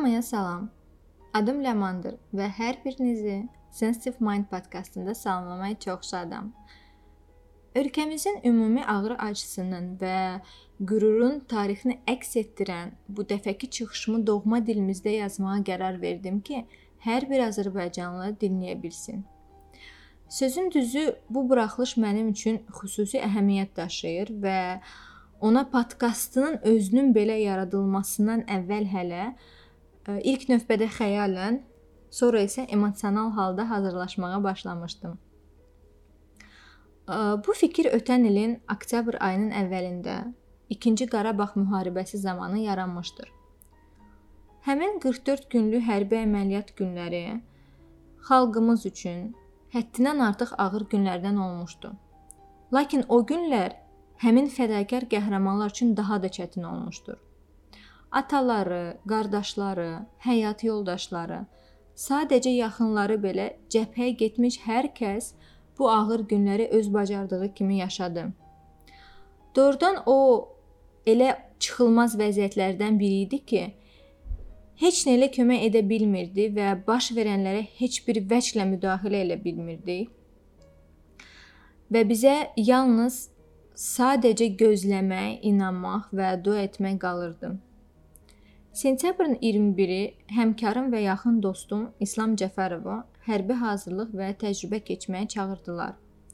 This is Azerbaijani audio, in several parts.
Hamıya salam. Adım Ləmandır və hər birinizi Sensitive Mind podkastında salamlamaya çox şadam. Ölkəmizin ümumi ağrı acısının və qürurun tarixini əks etdirən bu dəfəki çıxışımı doğma dilimizdə yazmağa qərar verdim ki, hər bir azərbaycanlı dinləyə bilsin. Sözün düzü, bu buraxılış mənim üçün xüsusi əhəmiyyət daşıyır və ona podkastının özünün belə yaradılmasından əvvəl hələ ilk növbədə xəyalən, sonra isə emosional halda hazırlaşmağa başlamışdım. Bu fikir ötən ilin oktyabr ayının əvvəlində 2-ci Qarabağ müharibəsi zamanı yaranmışdır. Həmin 44 günlük hərbi əməliyyat günləri xalqımız üçün həddindən artıq ağır günlərdən olmuşdu. Lakin o günlər həmin fədakar qəhrəmanlar üçün daha da çətin olmuşdur. Ataları, qardaşları, həyat yoldaşları, sadəcə yaxınları belə cəbhəyə getmiş hər kəs bu ağır günləri öz bacardığı kimi yaşadı. Doğrudan o elə çıxılmaz vəziyyətlərdən biri idi ki, heç nə ilə kömək edə bilmirdi və baş verənlərə heç bir vəclə müdaxilə edə bilmirdi. Və bizə yalnız sadəcə gözləmək, inanmaq və dua etmək qalırdı. Sentyabrın 21-i həmkarım və yaxın dostum İslam Cəfərovu hərbi hazırlıq və təcrübə keçməyə çağırdılar.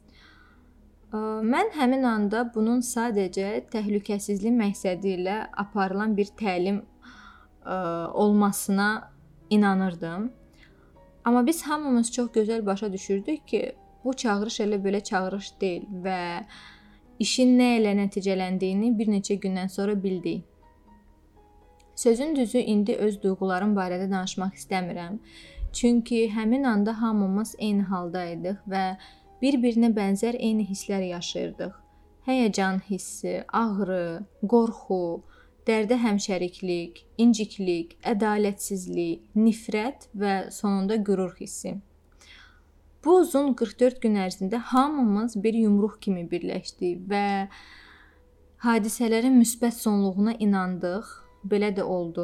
Mən həmin anda bunun sadəcə təhlükəsizlik məqsədi ilə aparılan bir təlim olmasına inanırdım. Amma biz hamımız çox gözəl başa düşürdük ki, bu çağırış elə belə çağırış deyil və işin nə ilə nəticələndiyini bir neçə gündən sonra bildik. Sözün düzü, indi öz duyğularım barədə danışmaq istəmirəm. Çünki həmin anda hamımız eyni halda idik və bir-birinə bənzər eyni hisslər yaşayırdıq. Həyəcan hissi, ağrı, qorxu, dərdə həmşəriklik, inciklik, ədalətsizlik, nifrət və sonunda qürur hissi. Bu uzun 44 gün ərzində hamımız bir yumruq kimi birləşdik və hadisələrin müsbət sonluğuna inandıq. Belə də oldu.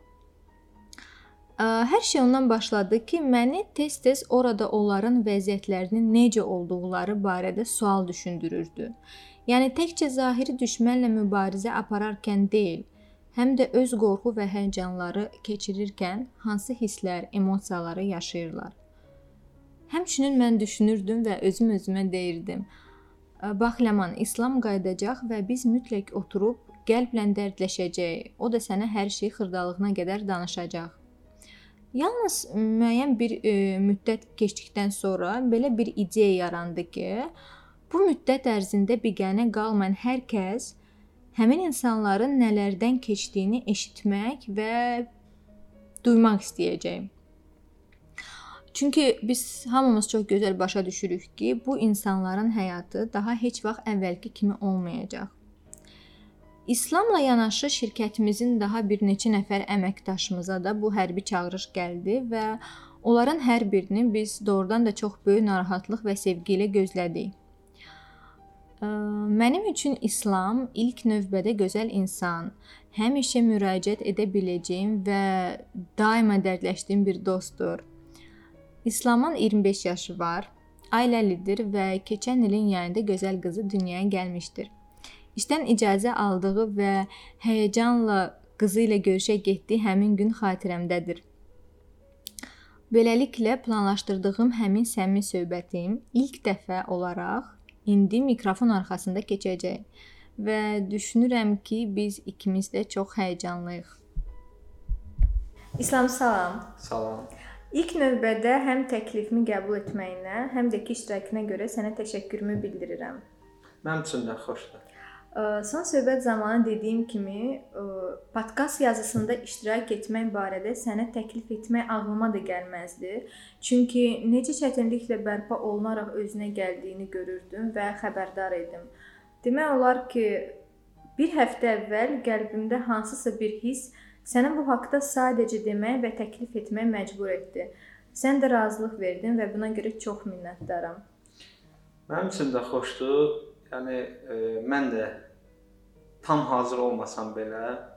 Hər şey ondan başladı ki, məni tez-tez orada onların vəziyyətlərinin necə olduqları barədə sual düşündürürdü. Yəni təkcə zahiri düşmənlə mübarizə apararkən deyil, həm də öz qorxu və həyəcanları keçirirkən hansı hisslər, emosiyaları yaşayırlar. Həmçinin mən düşünürdüm və özüm-özümə deyirdim: "Bax Ləman, İslam qayıdacaq və biz mütləq oturub qəlblə dərdləşəcək. O da sənə hər şey xırdalığına qədər danışacaq." Yalnız müəyyən bir müddət keçdikdən sonra belə bir ideya yarandı ki, bu müddət ərzində biganə qalmayan hər kəs həmin insanların nələrdən keçdiyini eşitmək və duymaq istəyəcək. Çünki biz hamımız çox gözəl başa düşürük ki, bu insanların həyatı daha heç vaxt əvvəlki kimi olmayacaq. İslamla yanaşı şirkətimizin daha bir neçə nəfər əməkdaşımıza da bu hərbi çağırış gəldi və onların hər birini biz doğrudan da çox böyük narahatlıq və sevgi ilə gözlədik. Mənim üçün İslam ilk növbədə gözəl insan, həmişə müraciət edə biləcəyim və daima dərdləşdiyim bir dostdur. İslamın 25 yaşı var, ailəlidir və keçən ilin yayında gözəl qızı dünyaya gəlmişdir. İşdən icazə aldığı və həyəcanla qızı ilə görüşə getdiyi həmin gün xatirəmdədir. Beləliklə planlaşdırdığım həmin səmimi söhbətim ilk dəfə olaraq indi mikrofon arxasında keçəcək və düşünürəm ki, biz ikimiz də çox həyəcanlıyıq. İslam, salam. Salam. İlk növbədə həm təklifimi qəbul etməyinə, həm də ki iştirakına görə sənə təşəkkürümü bildirirəm. Mənim üçün də xoşdur. Son söhbət zamanı dediyim kimi, podkast yazısında iştirak etmək barədə sənə təklif etmək ağlıma da gəlməzdi. Çünki necə çətinliklə bərpa olunaraq özünə gəldiyini görürdüm və xəbərdar idim. Demək olar ki, bir həftə əvvəl qəlbimdə hansısa bir hiss sənə bu haqqda sadəcə demək və təklif etmək məcbur etdi. Sən də razılıq verdin və buna görə çox minnətdaram. Mənim üçün də xoşdur. Yəni mən də tam hazır olmasam belə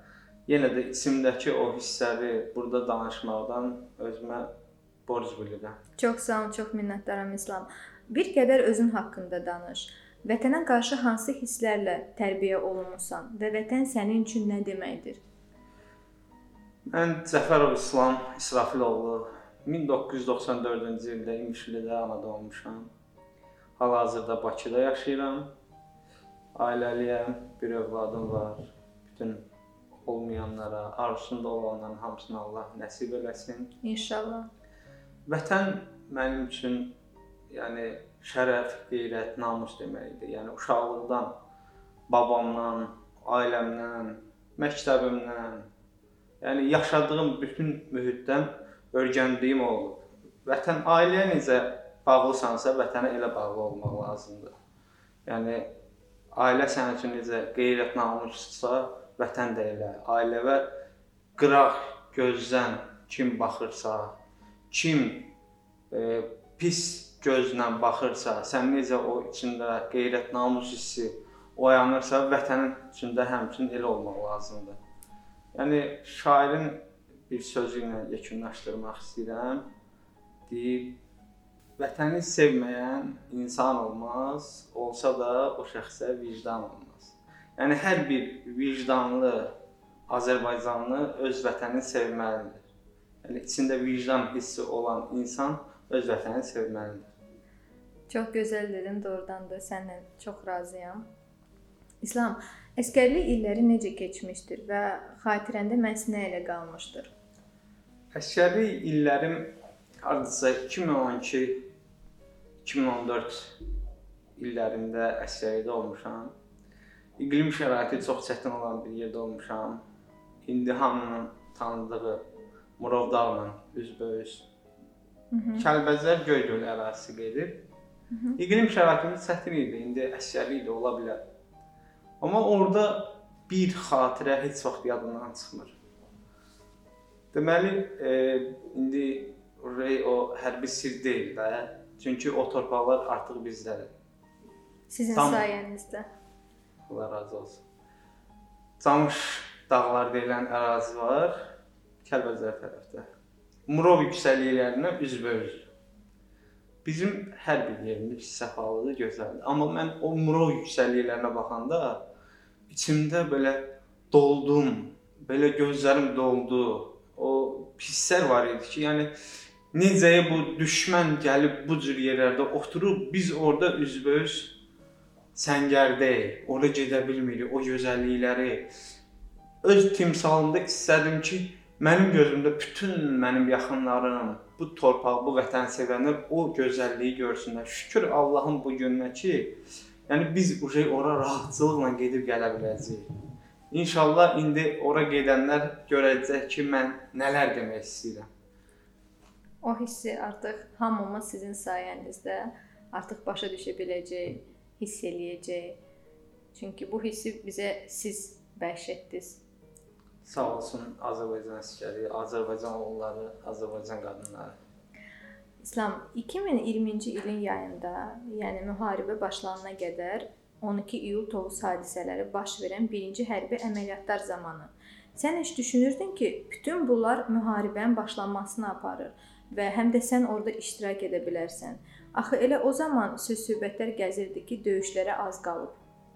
yenə də içimdəki o hissləri burada danışmaqdan özümə borc bilirəm. Çox sağ ol, çox minnətdaram İslam. Bir qədər özün haqqında danış. Vətənə qarşı hansı hisslərlə tərbiyə olunmusan və vətən sənin üçün nə deməkdir? Mən Cəfərov İslam İsrafiloğlu 1994-cü ildə İmişlidə anadan olmuşam. Hal-hazırda Bakıda yaşayıram. Ailəliyəm, bir övladım var. Bütün olmayanlara, arzusunda olanların hamısına Allah nəsib eləsin. İnşallah. Vətən mənim üçün yəni şərəf, qeyrət, namus deməkdir. Yəni uşaqlıqdan, babamdan, ailəmdən, məktəbimdən, yəni yaşadığım bütün mühitdən öyrəndiyim olub. Vətən ailəyə necə bağlısansa, vətənə elə bağlı olmaq lazımdır. Yəni ailə sənin üçün necə qeyrət, namussa, vətən də elə. Ailəvə qıraq gözdən kim baxırsa, kim pis gözlə baxırsa, sən necə o içində qeyrət, namus hissi oyanırsa, vətənin içində həmçinin elə olmaq lazımdır. Yəni şairin bir sözü ilə yekunlaşdırmaq istəyirəm. Deyib, vətəni sevməyən insan olmaz, olsa da o şəxsə vicdan olmaz. Yəni hər bir vicdanlı Azərbaycanlı öz vətənini sevməlidir. Yəni içində vicdan hissi olan insan öz vətənini sevməlidir. Çox gözəl dedin, doğrudan da səninlə çox razıyam. İslam, əskərlik illəri necə keçmişdir və xatirəndə məhz nə ilə qalmışdır? Əskərlik illərim hardasa 2012-2014 illərində əskərlikdə olmuşam. İqlim şəraiti çox çətin olan bir yerdə olmuşam. İndi hamının tanıdığı Murov dağla üzbəüz Kəlbəcər Göygöl ərazisi gedir. İqlim şəraitimiz çətin idi, indi əskərlik də ola bilər. Amma orada bir xatirə heç vaxt yadımdan çıxmır. Deməli, indi o hərbi sir deyil də, çünki o torpaqlar artıq bizdədir. Sizin sayənizdə. Allah razı olsun. Camış dağlar deyilən ərazi var, Kəlbəcər tərəfdə. Murov yüksəkliklərinə üzbəüz. Bizim hər bir yerimiz səfalıdır, gözəldir. Amma mən o Murov yüksəkliklərinə baxanda içimdə belə doldum, belə gözlərim doldu. O hisslər var idi ki, yəni necə bu düşmən gəlib bu cür yerlərdə oturub, biz orada üzbəüz səngərdəyik, orada gedə bilmirik, o gözəllikləri öz timsalımda istədim ki, mənim gözümdə bütün mənim yaxınlarım, bu torpaq, bu vətəni sevənlər o gözəlliyi görsünlər. Şükür Allahın bu gününə ki, yəni biz ora rahatçılıqla gedib gələ biləcəyik. İnşallah indi ora gedənlər görəcək ki, mən nələr demək istəyirəm. O hissi artıq hamımız sizin sayənizdə artıq başa düşə biləcək, hiss eləyəcək. Çünki bu hissi bizə siz bəxş etdiniz. Sağ olsun Azərbaycan əsgəri, Azərbaycan oğulları, Azərbaycan qadınları. İslam, 2020-ci ilin yayında, yəni müharibə başlanana qədər 12 iyul Tovuz hadisələri baş verən birinci hərbi əməliyyatlar zamanı sən heç düşünürdün ki, bütün bunlar müharibənin başlanmasına aparır və həm də sən orada iştirak edə bilərsən. Axı elə o zaman söz-söhbətlər gəzirdi ki, döyüşlərə az qalıb.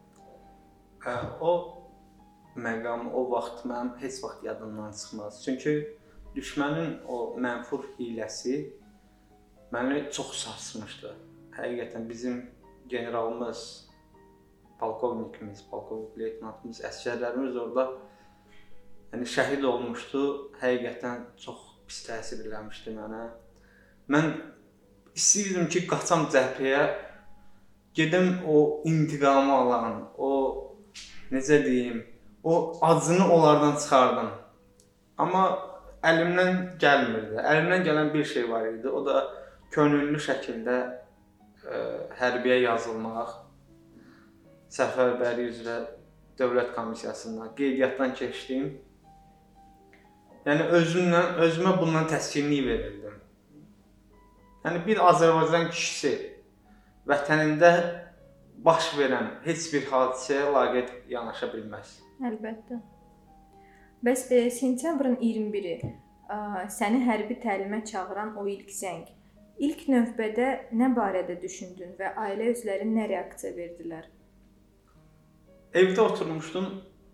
O məqam, o vaxt mənim heç vaxt yadımdan çıxmaz. Çünki düşmənin o mənfur hiləsi məni çox sarsmışdı. Həqiqətən bizim generalımız, polkovnikimiz, polkovnik leytenantımız, əsgərlərimiz orada şəhid olmuşdu. Həqiqətən çox pis təsir eləmişdi mənə. Mən istəyirdim ki, qaçam cəbhəyə, gedim o intiqamı alan, o necə deyim, o acını onlardan çıxardım. Amma əlimdən gəlmirdi. Əlimdən gələn bir şey var idi. O da könüllü şəkildə hərbiyə yazılmaq. Səfərbərlik üzrə Dövlət Komissiyasından, qeydiyyatdan keçdim. Yəni özümə bundan təskinlik verirdim. Yəni bir Azərbaycan kişisi vətənində baş verən heç bir hadisəyə laqeyd yanaşa bilməz. Əlbəttə. Bəs sentyabrın 21-i səni hərbi təlimə çağıran o ilk zəng. İlk növbədə nə barədə düşündün və ailə üzvləri nə reaksiya verdilər? Evdə oturmuşdum.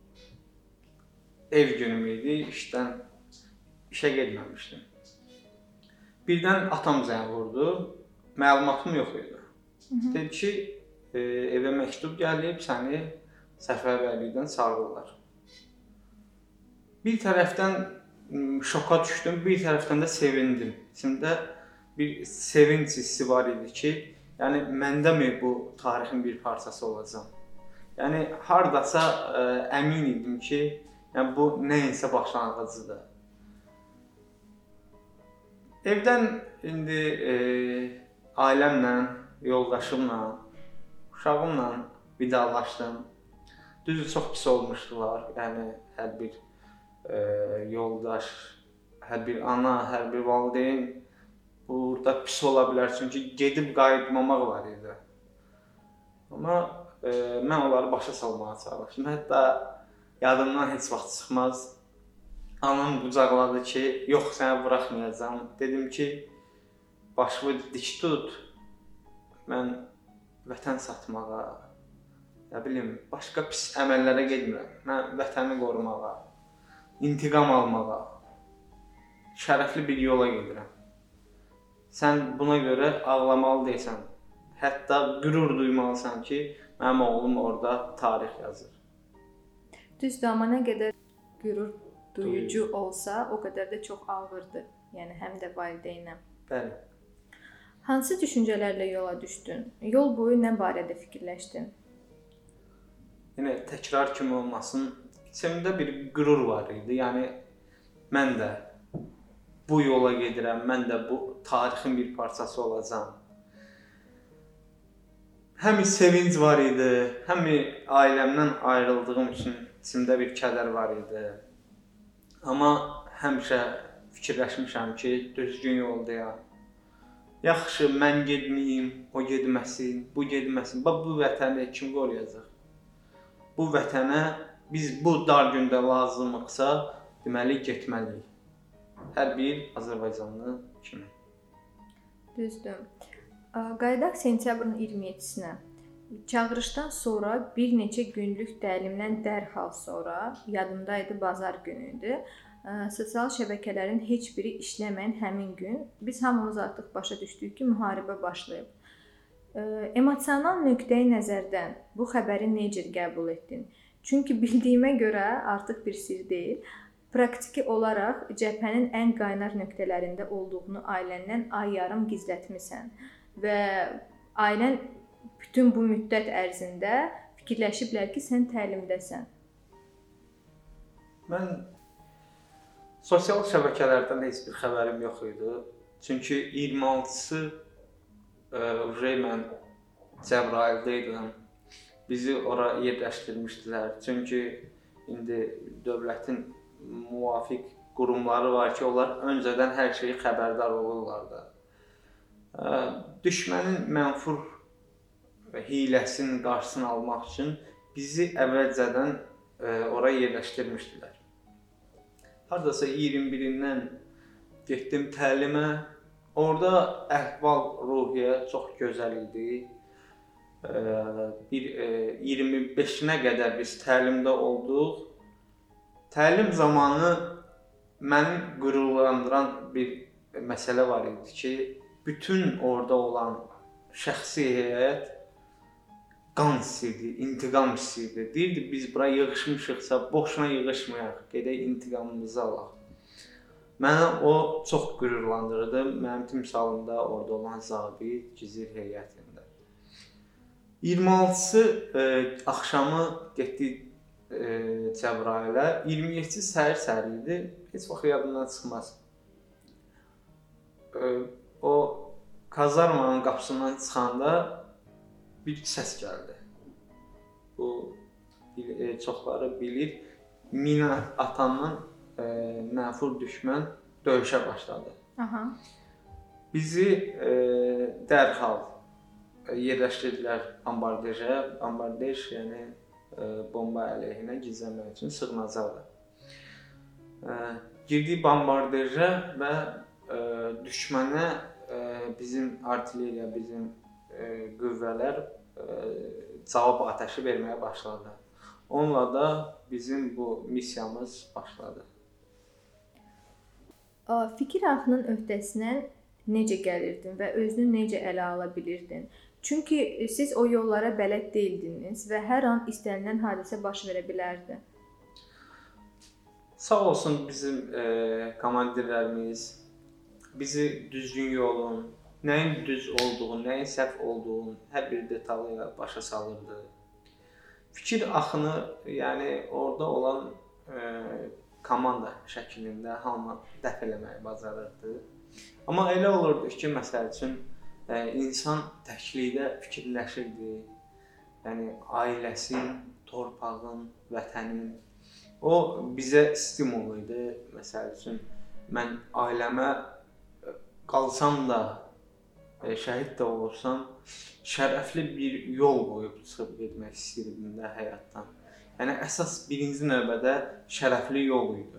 Ev günüm idi, işə getməmişdim. Birdən atam zəng vurdu. Məlumatım yox idi. Dedi ki, evə məktub gəlib, səni səfərbərlikdən çağırırlar. Bir tərəfdən şoka düşdüm, bir tərəfdən də sevindim. İçimdə bir sevinç hissi var idi ki, yəni məndə mi bu tarixin bir parçası olacam? Yəni hardasa əmin idim ki, yəni bu nəyinsə başlanğıcıdır. Evdən indi ailəmlə, yoldaşımla, uşağımla vidalaşdım. Düzü çox pis olmuşdular. Yəni hər bir yoldaş, hər bir ana, hər bir valideyn burada pis ola bilər. Çünki gedib qayıtmamaq var idi. Amma mən onları başa salmağa çalışdım. Hətta yadımdan heç vaxt çıxmaz. Anam qucaqladı ki, yox səni buraxmayacağam. Dedim ki, başımı dik tut. Mən vətən satmağa, nə bilim, başqa pis əməllərə getmirəm. Mən vətəni qorumağa, intiqam almağa, şərəfli bir yola gedirəm. Sən buna görə ağlamalı deyilsən. Hətta qürur duymalısan ki, mənim oğlum orada tarix yazır. Düzdür, amma nə qədər qürur duyucu olsa, o qədər də çox ağırdır. Yəni həm də valideynə. Bəli. Hansı düşüncələrlə yola düşdün? Yol boyu nə barədə fikirləşdin? Yəni təkrar kimi olmasın, içimdə bir qürur var idi. Yəni mən də bu yola gedirəm, mən də bu tarixin bir parçası olacağam. Həm sevinc var idi, həm ailəmdən ayrıldığım üçün içimdə bir kədər var idi. Amma həmişə fikirləşmişəm ki, düzgün yoldayam. Yaxşı, mən getməyim, o getməsin, bu getməsin. Bax, bu vətəni kim qoruyacaq? Bu vətənə biz bu dar gündə lazımıqsa, deməli getməliyik. Hər bir Azərbaycanlı kimi. Düzdür. Qayıdaq sentyabrın 27-sinə. Çağırışdan sonra bir neçə günlük təlimdən dərhal sonra, yadımdaydı, bazar günü idi. Sosial şəbəkələrin heç biri işləməyən həmin gün biz hamımız artıq başa düşdük ki, müharibə başlayıb. Emosional nöqteyi nəzərdən bu xəbəri necə qəbul etdin? Çünki bildiyimə görə artıq bir sirr deyil. Praktiki olaraq cəbhənin ən qaynar nöqtələrində olduğunu ailəndən ay yarım gizlətmisən və ailən bütün bu müddət ərzində fikirləşiblər ki, sən təlimdəsən. Mən sosial şəbəkələrdən heç bir xəbərim yox idi. Çünki 26-sı mən Cəbrayılda idim. Bizi ora yerləşdirmişdilər. Çünki indi dövlətin müvafiq qurumları var ki, onlar öncədən hər şeyi xəbərdar olurlar da. Düşmənin mənfur hiləsinin qarşısını almaq üçün bizi əvvəlcədən ora yerləşdirmişdilər. Hardasa 21-dən getdim təlimə. Orada əhval-ruhiyyə çox gözəl idi. 25-nə qədər biz təlimdə olduq. Təlim zamanı məni qürurlandıran bir məsələ var idi ki, bütün orada olan şəxsi heyət qan istəyirdi, intiqam istəyirdi. Deyirdi, biz bura yığışmışıqsa, boşuna yığışmayaq, gedək intiqamımızı alaq. Mənə o çox qürurlandırdı, mənim timsalımda orada olan zabit, gizir heyətində. 26-sı axşamı getdik Cəbrayılə, 27-ci səhər idi, heç vaxt yadımdan çıxmaz. O kazarmanın qapısından çıxanda bir səs gəldi. Bu çoxları bilir, mina atandan mənfur düşmən döyüşə başladı. Aha. Bizi dərhal yerləşdirdilər ambardeja. Ambardej yəni bomba əleyhinə gizlənmək üçün sığınacaqdır. Girdik bombardajə və düşmənə bizim artilleriya, bizim qüvvələr cavab atəşi verməyə başladı. Onunla da bizim bu missiyamız başladı. Fikir axının öhdəsindən necə gəlirdin və özünü necə ələ ala bilirdin? Çünki siz o yollara bələd deyildiniz və hər an istənilən hadisə baş verə bilərdi. Sağ olsun bizim komandirlərimiz bizi düzgün yolun, nəyin düz olduğunu, nəyin səhv olduğunu hər bir detalı ilə başa salırdı. Fikir axını, yəni orada olan komanda şəklində hamı dəf eləməyi bacarırdı. Amma elə olurdu ki, məsəl üçün insan təklikdə fikirləşirdi. Yəni ailəsin, torpağın, vətənin. O bizə stimul idi. Məsəl üçün mən ailəmə qalsam da, şəhid də olursam, şərəfli bir yol qoyub çıxıb getmək istəyirdim də həyatdan. Yəni əsas birinci növbədə şərəfli yol idi.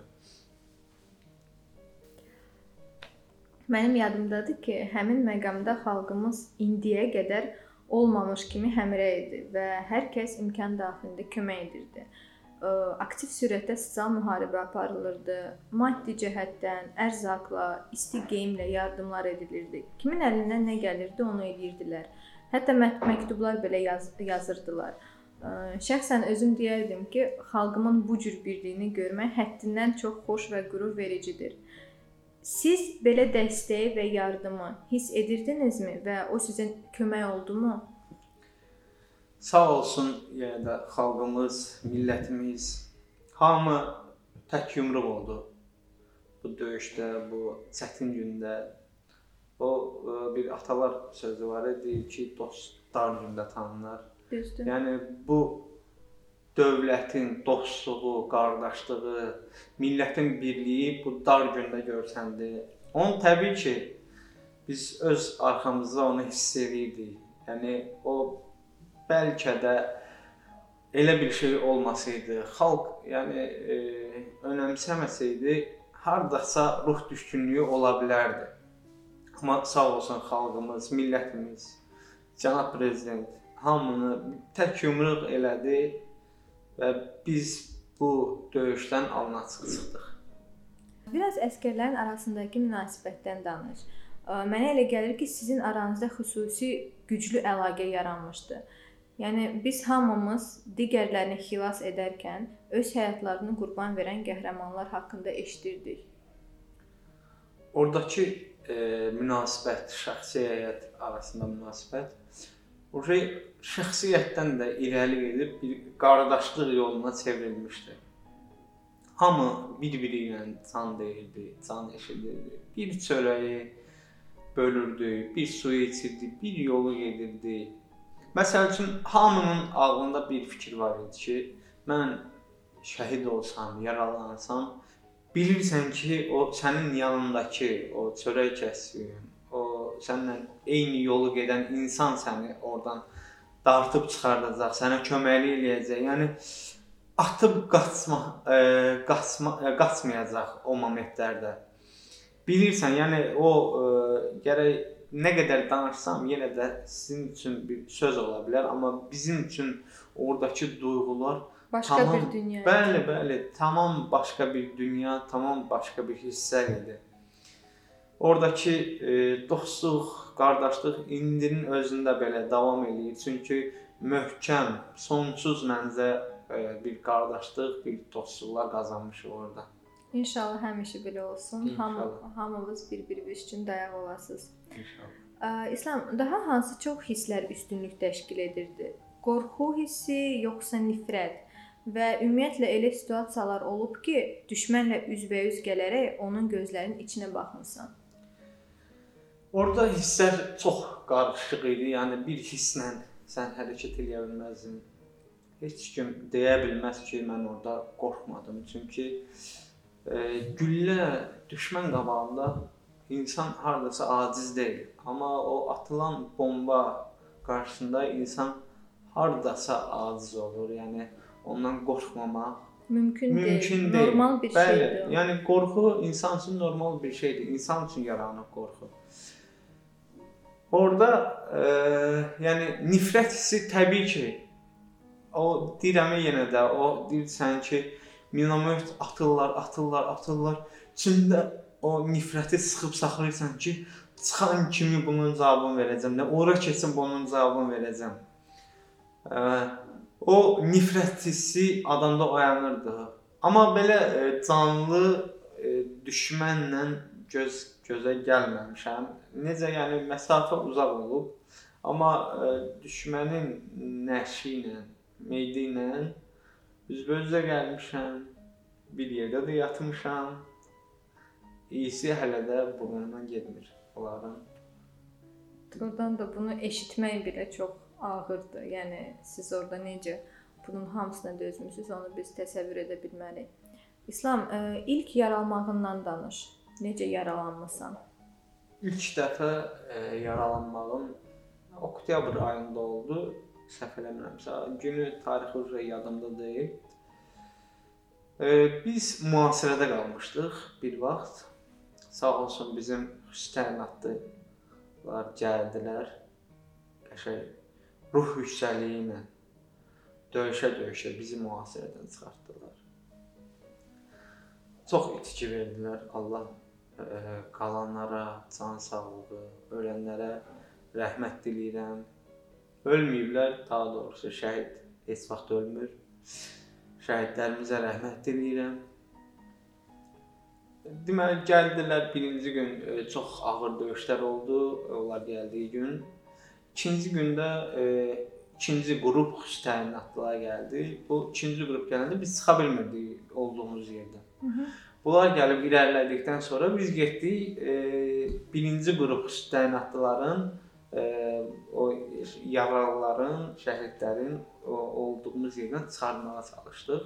Mənim yadımdadır ki, həmin məqamda xalqımız indiyə qədər olmamış kimi həmrəy idi və hər kəs imkan daxilində kömək edirdi. Aktiv sürətdə sosial müharibə aparılırdı. Maddi cəhətdən, ərzaqla, isti geyimlə yardımlar edilirdi. Kimin əlindən nə gəlirdi, onu edirdilər. Hətta məktublar belə yazırdılar. Şəxsən özüm deyərdim ki, xalqımın bu cür birliyini görmək həddindən çox xoş və qürur vericidir. Siz belə dəstəyi və yardımı hiss edirdinizmi və o sizə kömək oldumu? Sağ olsun, yəni də xalqımız, millətimiz, hamı tək yumruq oldu bu döyüşdə, bu çətin gündə. O bir atalar sözü var idi ki, dost dar gündə tanınar. Düzdür. Yəni bu dövlətin dostluğu, qardaşlığı, millətin birliyi bu dar gündə görsəndi. Onu təbii ki, biz öz arxamızda onu hiss edirdik. Yəni o bəlkə də elə bir şey olmasaydı, xalq yəni önəmsəməsəydi, hardasa ruh düşkünlüyü ola bilərdi. Amma sağ olsun xalqımız, millətimiz, cənab prezident hamını tək yumruq elədi və biz bu döyüşdən alnacıq çıxdıq. Biraz əsgərlərin arasındakı münasibətdən danış. Mənə elə gəlir ki, sizin aranızda xüsusi güclü əlaqə yaranmışdı. Yəni biz hamımız digərlərini xilas edərkən öz həyatlarını qurban verən qəhrəmanlar haqqında eşidirdik. Oradakı münasibət, şəxsi həyat arasında münasibət şəxsiyyətdən də irəli gedib bir qardaşlıq yoluna çevrilmişdi. Hamı bir-biri ilə can deyirdi, can eşidirdi. Bir çörəyi bölürdü, bir suyu içirdi, bir yolu gedirdi. Məsəl üçün, hamının ağlında bir fikir var idi ki, mən şəhid olsam, yaralansam, bilirsən ki, o sənin yanındakı, o çörək kəssin, o səninlə eyni yolu gedən insan səni oradan dartıb çıxardacaq, sənə köməklik eləyəcək. Yəni atıb qaçmayacaq o momentlərdə. Bilirsən, yəni o gərək nə qədər danışsam, yenə də sizin üçün bir söz ola bilər, amma bizim üçün oradakı duyğular başqa bir dünya. Bəli, tamam başqa bir dünya, tamam başqa bir hissə idi. Oradakı dostluq, qardaşlıq indinin özündə belə davam edir. Çünki möhkəm, sonsuz məncə bir qardaşlıq, bir dostluqlar qazanmışıq orada. İnşallah həmişə belə olsun. İnşallah. Hamımız bir-birimiz üçün dayaq olasınız. İnşallah. İslam, daha hansı çox hisslər üstünlük təşkil edirdi? Qorxu hissi, yoxsa nifrət? Və ümumiyyətlə elə situasiyalar olub ki, düşmənlə üzbəüz gələrək onun gözlərinin içinə baxmısan. Orada hisslər çox qarışıq idi. Yəni bir hisslə sən hərəkət edə bilməzdin. Heç kim deyə bilməz ki, mən orada qorxmadım. Çünki güllə düşmən qabağında insan hardasa aciz deyil. Amma o atılan bomba qarşısında insan hardasa aciz olur. Yəni ondan qorxmamaq, Mümkün Mümkün deyil. deyil. Normal bir Bəli, şeydir. yəni qorxu insan üçün normal bir şeydir. İnsan üçün yaranıb qorxu. Orada yəni nifrət hissi təbii ki, o deyirəm yenə də, o deyirsən ki, minomyot atırlar. İçində o nifrəti sıxıb saxlayırsan ki, çıxan kimi bunun cavabını verəcəm. Nə ora keçsin bunun cavabını verəcəm. O nifrət hissi adamda oyanırdı. Amma belə canlı düşmənlə gözə gəlməmişəm. Necə yəni məsafə uzaq olub, amma düşmənin nəşi ilə, meydi ilə üzbözə gəlmişəm. Bir yerdə də yatmışam. İyisi hələ də burnundan getmir onların. Doğrudan da bunu eşitmək belə çox ağırdır. Yəni siz orada necə bunun hamısına dözmüsünüz, onu biz təsəvvür edə bilmərik. İslam, ilk yaralmağından danış. Necə yaralanmısan? İlk dəfə yaralanmağım oktyabr ayında oldu. Səhv eləmirəmsə, günü, tarixi üzrə yadımda deyil. Biz mühasirədə qalmışdıq bir vaxt. Sağ olsun bizim təyinatlılar gəldilər. Qəşəng ruh yüksəkliyi ilə döyüşə bizi mühasirədən çıxartdılar. Çox itki verdilər. Allah qalanlara can sağlığı, ölənlərə rəhmət diləyirəm. Ölməyiblər, daha doğrusu şəhid heç vaxt ölmür. Şəhidlərimizə rəhmət diləyirəm. Deməli gəldilər birinci gün çox ağır döyüşlər oldu. Onlar gəldiyi gün. İkinci gündə ikinci qrup xüsusi təyinatlılar gəldi. Bu ikinci qrup gələndə biz çıxa bilmirdik olduğumuz yerdən. Bunlar gəlib irəlilədikdən sonra biz getdik birinci qrup xüsusi təyinatlıların o yaralıların, şəhidlərin olduğumuz yerdən çıxarmağa çalışdıq.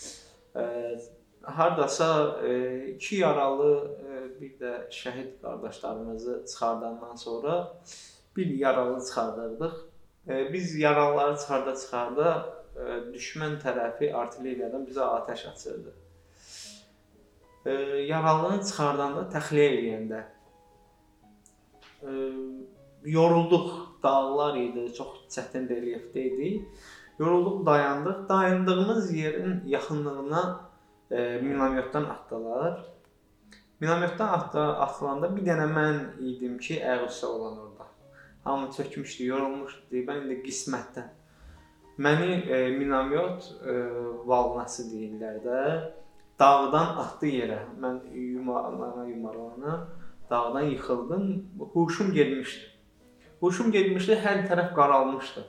Hardasa 2 yaralı, bir də şəhid qardaşlarımızı çıxardandan sonra bir yaralı çıxardırdıq. Biz yaralıları çıxarda düşmən tərəfi artilleriyadan bizə atəş açırdı. Yaralını çıxardanda, təxliyə eləyəndə yorulduq, dağlar idi, çox çətin relyefdə idi. Yorulduq, dayandıq. Dayandığımız yerin yaxınlığına minomyotdan atdılar. Minomyotdan atılanda bir dənə mən idim ki, ayaqüstə olan orada. Hamı çökmüşdü, yorulmuşdu. Mən indi qismətdən. Məni minomyot valnası deyirlər də, dağdan atdı yerə. Mən yumarlana dağdan yıxıldım. Huşum getmişdi. Hər tərəf qaralmışdı.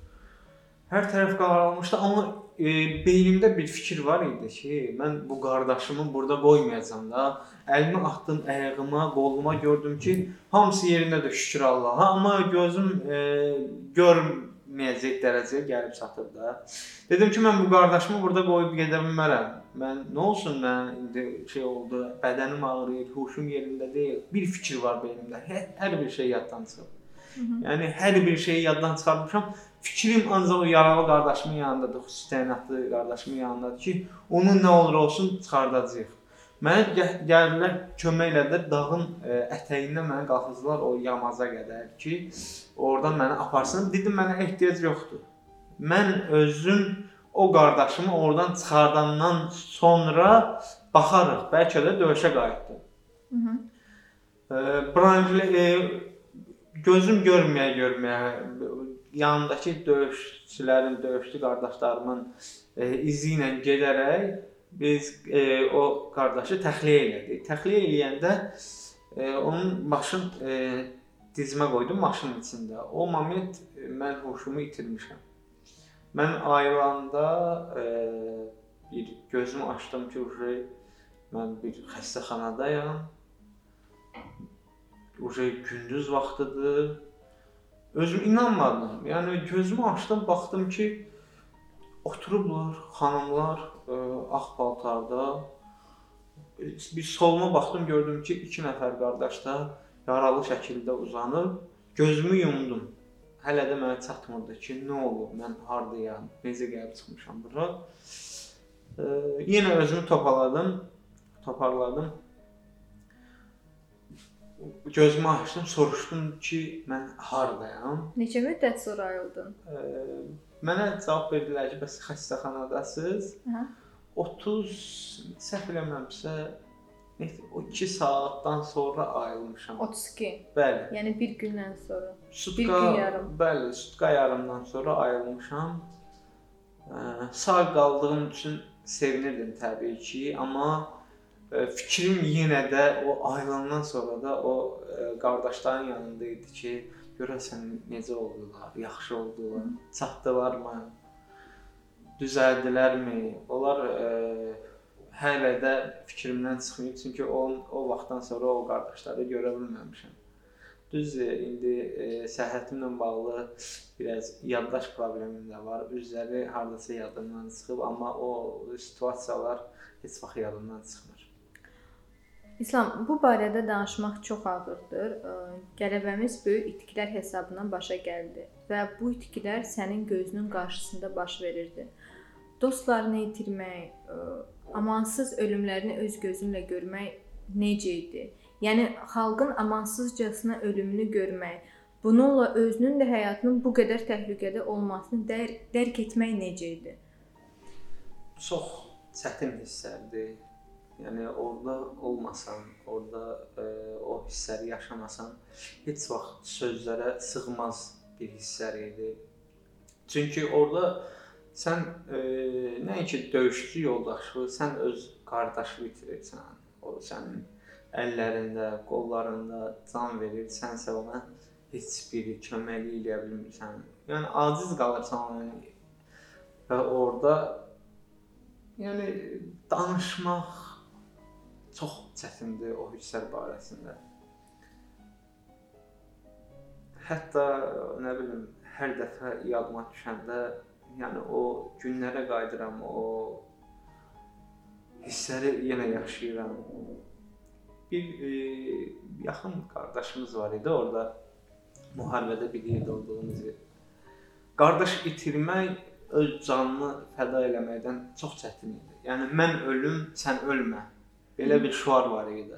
Amma beynimdə bir fikir var idi ki, mən bu qardaşımı burada qoymayacam da. Əlimi atdım ayağıma, qoluma, gördüm ki, hamısı yerindədir, şükür Allaha. Amma gözüm görməyəcək dərəcəyə gəlib çatır da. Dedim ki, mən bu qardaşımı burada qoyub gedə bilmərəm. Mən nə olsun, mən indi oldu, bədənim ağrıyır, huşum yerində deyil. Bir fikir var beynimdə. Hər bir şey yaddan çıxıb. Yəni hər bir şeyi yaddan çıxarmışam. Fikrim ancaq o yaralı qardaşımın yanındadır, xüsusi təyinatlı qardaşımın yanındadır ki, onu nə olur olsun çıxardacağıq. Mənə gəldilər, kömək elədilər, dağın ətəyindən məni qalxızdılar o yamaza qədər ki, oradan məni aparsın. Dedim, mənə ehtiyac yoxdur. Mən özüm o qardaşımı oradan çıxardandan sonra baxarıq, bəlkə də döyüşə qayıtdım. Gözüm görməyə, yanındakı döyüşçülərin, döyüşçü qardaşlarımın izi ilə gedərək biz o qardaşı təxliyə elədik. Təxliyə eləyəndə onun başını dizmə qoydum maşının içində. O moment mən huşumu itirmişəm. Mən ayılanda bir gözümü açdım ki, mən bir xəstəxanadayam. Gündüz vaxtıdır. Özüm inanmadım. Yəni gözümü açdım, baxdım ki, oturublar xanımlar ağ paltarda. Bir soluma baxdım, gördüm ki, 2 nəfər qardaş da yaralı şəkildə uzanıb. Gözümü yumdum. Hələ də mənə çatmırdı ki, nə olub, mən hardayam, necə gəlib çıxmışam bura. Yenə özümü toparladım. Gözümü açdım, soruşdum ki, mən hardayam? Neçə müddət sonra ayıldın? Mənə cavab verdilər ki, bəs xəstəxanadasınız. Hə. 30 səhv eləmirəmsə, o 2 saatdan sonra ayılmışam. 32. Bəli. Yəni bir gündən sonra. Sutka, bir gün yarım. Bəli, sutka yarımdan sonra ayılmışam. Sağ qaldığım üçün sevinirdim təbii ki, amma fikrim yenə də o ayılandan sonra da o qardaşların yanında idi ki, görəsən necə oldular, yaxşı oldular, çatdılarmı, düzəldilərmi? Onlar hələ də fikrimdən çıxmayıb, çünki o vaxtdan sonra o qardaşları görə bilməmişəm. Düzdür, indi səhhətimlə bağlı biraz yaddaş problemim də var. Üzləri hardasa yadımdan çıxıb, amma o situasiyalar heç vaxt yadımdan çıxmır. İslam, bu barədə danışmaq çox ağırdır. Qələbəmiz böyük itkilər hesabına başa gəldi və bu itkilər sənin gözünün qarşısında baş verirdi. Dostlarını itirmək, amansız ölümlərini öz gözünlə görmək necə idi? Yəni xalqın amansızcasına ölümünü görmək, bununla özünün də həyatının bu qədər təhlükədə olmasını dərk etmək necə idi? Çox çətin hisslərdir. Yəni orada olmasan, orada o hissləri yaşamasan, heç vaxt sözlərə sığmaz bir hisslər idi. Çünki orada sən nəinki döyüşçü yoldaşı, sən öz qardaşını itirirsən. O sənin əllərində, qollarında can verir, sənsə ona heç bir köməklik eləyə bilmirsən. Yəni aciz qalırsan ona. Və orada yəni danışmaq çox çətindir o hisslər barəsində. Hətta nə bilim, hər dəfə yadıma düşəndə, yəni o günlərə qayıdıram, o hissləri yenə yaşayıram. Bir yaxın qardaşımız var idi orada, müharibədə bir yerdə olduğumuz yer. Qardaş itirmək öz canını fəda eləməkdən çox çətin idi. Yəni mən ölüm, sən ölmə. Belə bir şüar var idi.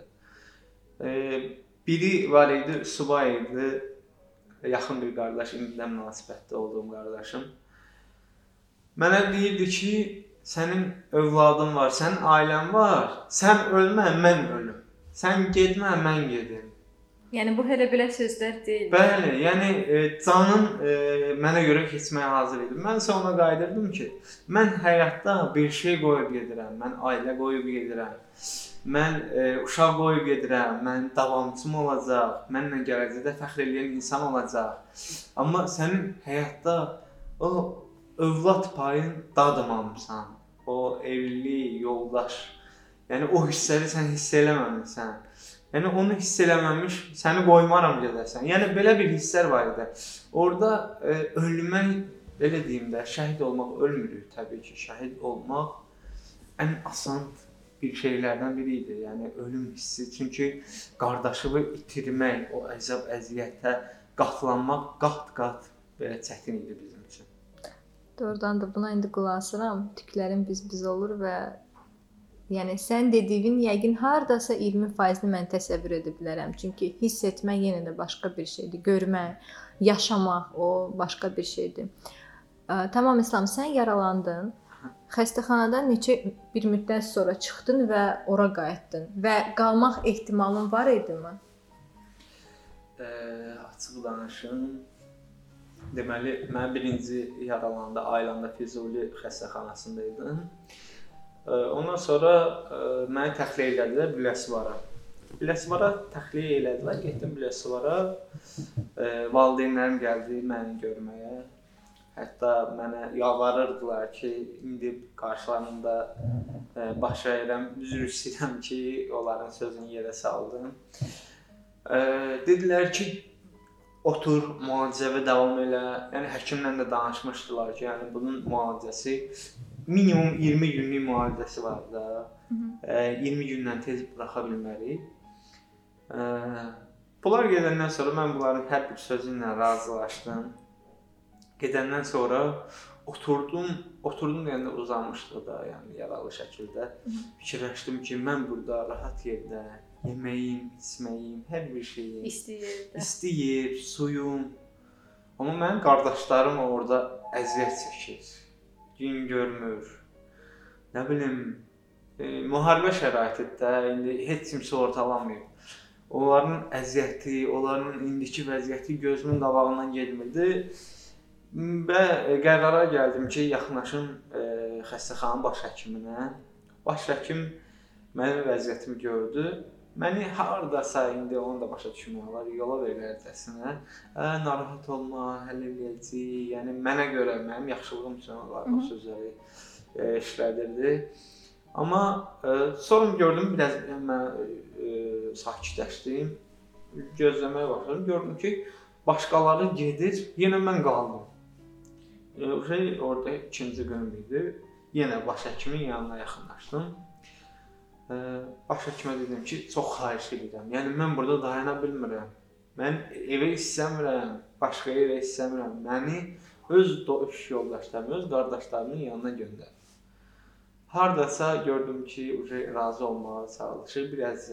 Biri var idi, subay idi, yaxın bir qardaş, indidən münasibətdə olduğum qardaşım. Mənə deyirdi ki, sənin övladın var, sənin ailən var, sən ölmə, mən ölüm. Sən getmə, mən gedim. Yəni bu hələ belə sözlər deyil. Bəli, yəni canın mənə görə keçməyə hazır idi. Mən isə ona qayıdırdım ki, mən həyatda bir şey qoyub gedirəm, mən ailə qoyub gedirəm. Mən uşaq qoyub gedirəm, mən davamçım olacaq, mənlə gələcəkdə fəxr edən insan olacaq. Amma sənin həyatda o övlad payın dadmamısan, o evlilik, yoldaş, yəni o hissləri sən hiss eləməmisən. Yəni onu hiss eləməmiş, səni qoymaram gedəsən. Yəni belə bir hisslər var idi. Orada ölmək, belə deyim də, şəhid olmaq ölmürük təbii ki. Şəhid olmaq ən asan bir şeylərdən biri idi. Yəni ölüm hissi. Çünki qardaşını itirmək, o əzab, əziyyətə qatlanmaq qat-qat belə çətin idi bizim üçün. Doğrudan da buna indi qulaq asıram. Tüklərim biz olur və yəni sən dediyin yəqin hardasa 20%-ni mən təsəvvür edə bilərəm. Çünki hiss etmək yenə də başqa bir şeydir. Görmək, yaşamaq o başqa bir şeydir. Tamam İslam, sən yaralandın. Xəstəxanadan neçə bir müddət sonra çıxdın və ora qayıtdın və qalmaq ehtimalın var idimi? Açıq danışım. Deməli, mən birinci yaralananda Aylandda Füzuli xəstəxanasında idim. Ondan sonra məni təxliyə elədilər Biləsuvar'a. Biləsuvar'a təxliyə elədilər, getdim Biləsuvar'a. Valideynlərim gəldi məni görməyə. Hətta mənə yalvarırdılar ki, indi qarşılarında baş əyirəm, üzr istəyirəm ki, onların sözünü yerə saldım. Dedilər ki, otur, müalicəyə davam elə. Yəni həkimlə də danışmışdılar ki, yəni bunun müalicəsi minimum 20 günlük müalicəsi var da. 20 gündən tez buraxa bilmərik. Bunlar gedəndən sonra mən bunların hər bir sözü ilə razılaşdım. Gedəndən sonra oturdum deyəndə uzanmışdı da, yəni yaralı şəkildə. Fikirləşdim ki, mən burada rahat yerdə yeməyim, içməyim, hər bir şeyim, isti yer, suyum. Amma mənim qardaşlarım orada əziyyət çəkir, gün görmür. Nə bilim, müharibə şəraitində indi heç kim sığortalanmır. Onların əziyyəti, onların indiki vəziyyəti gözümün qabağından getmirdi. Və qərara gəldim ki, yaxınlaşım xəstəxananın baş həkiminə. Baş həkim mənim vəziyyətimi gördü. Məni hardasa indi onu da başa düşmək olar, yola verirlərcəsinə. Narahat olma, həll eləyəcəyik. Yəni mənə görə, mənim yaxşılığım üçün onlar o sözləri işlədirdi. Amma sonra gördüm, biraz mən sakitləşdim, gözləməyə başladım. Gördüm ki, başqaları gedir, yenə mən qaldım. Orada ikinci günüm idi. Yenə baş həkimin yanına yaxınlaşdım. Baş həkimə dedim ki, çox xahiş edirəm. Yəni mən burada dayana bilmirəm. Mən evə istəmirəm, başqa yerə istəmirəm. Məni öz iş yoldaşlarımın, öz qardaşlarımın yanına göndər. Hardasa gördüm ki, razı olmağa çalışır. Biraz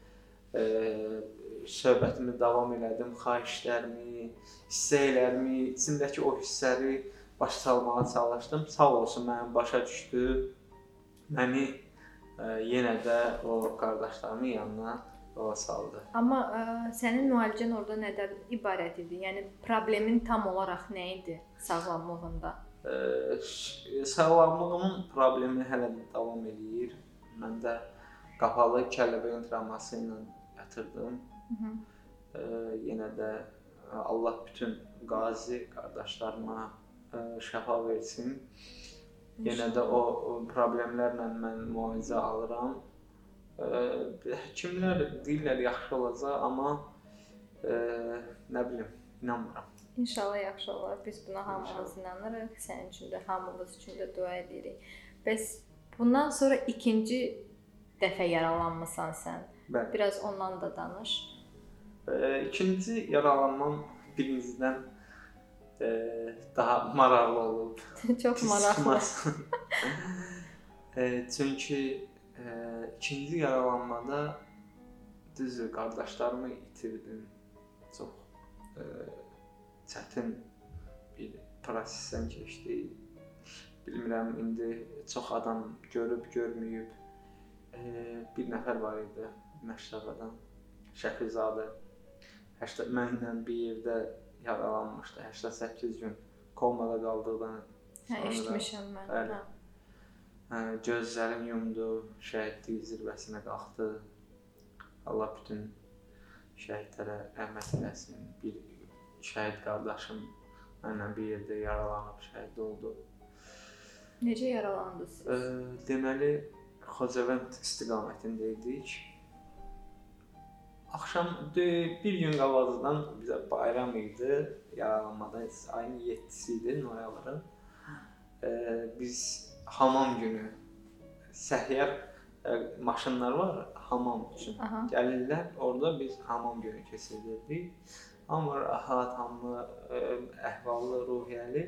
söhbətimi davam elədim, xahişlərimi, istəklərimi, içimdəki o hissləri başa salmağa çalışdım. Sağ olsun, mənim başa düşdü. Məni yenə də o qardaşlarımın yanına yola saldı. Amma sənin müalicən orada nədən ibarət idi? Yəni problemin tam olaraq nə idi sağlamlığında? Sağlamlığımın problemi hələ də davam edir. Mən də qapalı kəlləbəyin travması ilə yatırdım. Yenə də Allah bütün qazi qardaşlarıma şəfa versin. Yenə də o problemlərlə mən müalicə alıram. Həkimlər deyirlər yaxşı olacaq, amma nə bilim, inanmıram. İnşallah yaxşı olar. Biz buna hamımız inanırıq. Sənin üçün də, hamımız üçün də dua edirik. Bəs bundan sonra ikinci dəfə yaralanmısan sən. Bəli. Biraz ondan da danış. İkinci yaralanmam birincidən daha maraqlı olub. Çox maraqlı. Çünki ikinci yaralanmada düzdür, qardaşlarımı itirdim. Çox çətin bir prosesdən keçdi. Bilmirəm, indi çox adam görüb, görməyib. Bir nəfər var idi Məşrəqadan, Şəfizadə. Mənlə bir yerdə yaralanmışdı, 88 gün komada qaldıqdan sonra. Eşitmişəm mən. Bəli. Gözlərim yumdu, şəhidlik zirvəsinə qalxdı. Allah bütün şəhidlərə rəhmət eləsin. Bir şəhid qardaşım mənlə bir yerdə yaralanıb şəhid oldu. Necə yaralandınız siz? Deməli, Xocavənd istiqamətində idik. Axşam bir gün qabaqdan bizə bayram idi, yaralanmada ayın 7-si idi, noyabrın. Biz hamam günü səhiyyar maşınlar var hamam üçün. Gəlirlər, orada biz hamam günü keçirirdik. Amma rahat, hamı əhvallı, ruhiyyəli.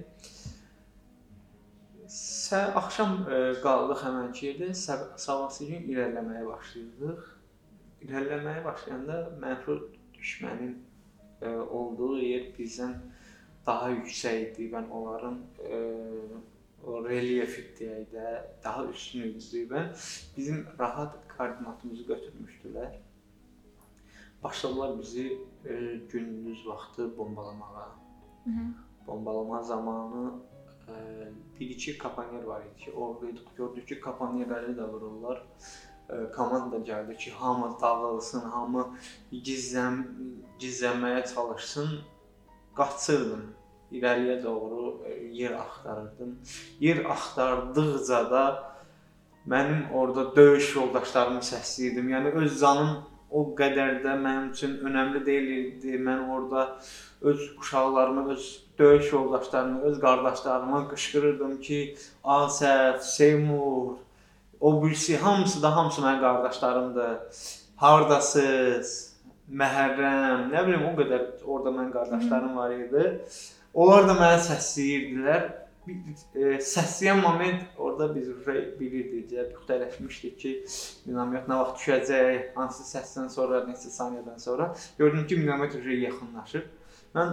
Axşam qaldıq həmənki yerdə, sabahsı gün irəliləməyə başlayırdıq. İrəliləməyə başlayanda mənfur düşmənin olduğu yer bizdən daha yüksək idi. Ben onların o relyefi deyək də daha üstün idi. Ben bizim rahat koordinatımızı götürmüşdülər. Başladılar bizi gündüz vaxtı bombalamağa. Bombalama zamanı bir-iki kapanyer var idi ki, oradaydık. Gördük ki, kapanyerləri də vururlar. Komanda gəldi ki, hamı dağılsın, hamı gizlənməyə çalışsın. Qaçırdım, irəliyə doğru yer axtarırdım. Yer axtardıqca da mənim orada döyüş yoldaşlarımı səsləyirdim. Yəni öz canım o qədər də mənim üçün önəmli deyildi. Mən orada öz uşaqlarımı, öz döyüş yoldaşlarımı, öz qardaşlarıma qışqırırdım ki, Asəf, Seymur, o birisi, hamısı mənim qardaşlarımdır. Hardasız, Məhərrəm, nə bilim, o qədər orada mənim qardaşlarım var idi. Onlar da mənə səsləyirdilər. səsləyən moment orada biz bilirdik, puxtələşmişdik ki, minomyot nə vaxt düşəcək, hansı səsdən sonra, neçə saniyədən sonra. Gördüm ki, minomyot yaxınlaşır. Mən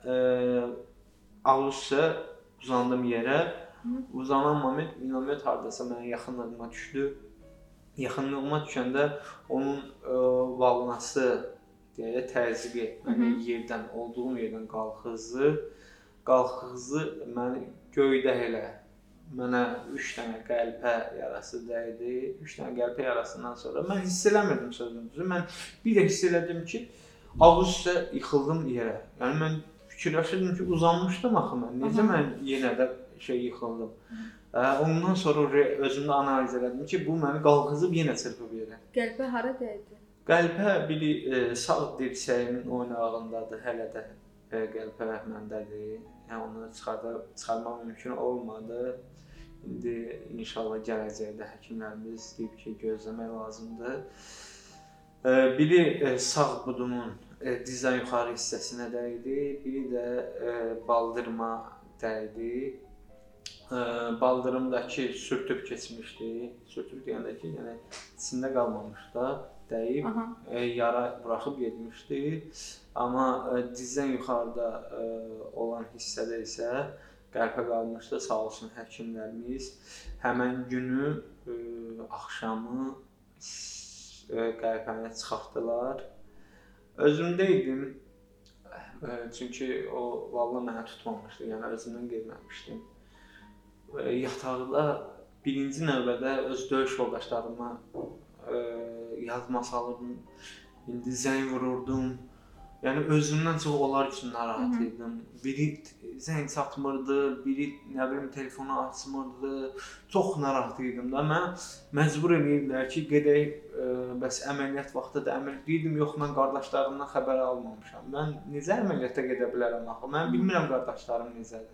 ağustos uzandım yerə. Uzanan moment minomyot hardasa mənim yaxınlığıma düşdü. Yaxınlığıma düşəndə onun valnası deyə təzyiq etməni yerdən, olduğum yerdən qalxızdı məni göydə elə. Mənə 3 dənə qəlpə yarası dəydi. 3 dənə qəlpə yarasından sonra mən hiss eləmirdim sözün düzü. Mən bir də hiss elədim ki, ağustos yıxıldım yerə. Yəni mən fikirləşirdim ki, uzanmışdım axı mən. Necə mən yenə də yıxıldım. Ondan sonra özümdə analiz elədim ki, bu məni qalxızıb yenə çırpıb yerə. Qəlpə hara dəydi? Qəlpə biri sağ dirsəyimin oynağındadır, hələ də qəlpə məndədir. Yəni onu çıxarmaq mümkün olmadı. İndi inşallah gələcəkdə həkimlərimiz deyib ki, gözləmək lazımdır. Biri sağ budumun dizdən yuxarı hissəsinə dəydi, biri də baldırıma dəydi. Baldırımdakı sürtüb keçmişdi. Sürtüb deyəndə ki, yəni içində qalmamış da dəyib, yara buraxıb getmişdi. Amma dizdən yuxarıda olan hissədə isə qəlpə qalmışdı. Sağ olsun həkimlərimiz həmən günü axşamı qəlpəni çıxartdılar. Özümdə idim. Çünki o vallahi mənə tutmamışdı. Yəni özümdən getməmişdim. Yataqda birinci növbədə öz döyüş yoldaşlarıma yazma salırdım, indi zəng vururdum. Yəni özümdən çox onlar üçün narahat idim. Biri zəng çatmırdı, biri nə bilim telefonu açmırdı. Çox narahat idim da. Mən məcbur edirdilər ki, gedək bəs əməliyyat vaxtı da əməliyyat deyirdim, yox mən qardaşlarımdan xəbər almamışam. Mən necə əməliyyata gedə bilərəm axı? Mən bilmirəm qardaşlarım necədir.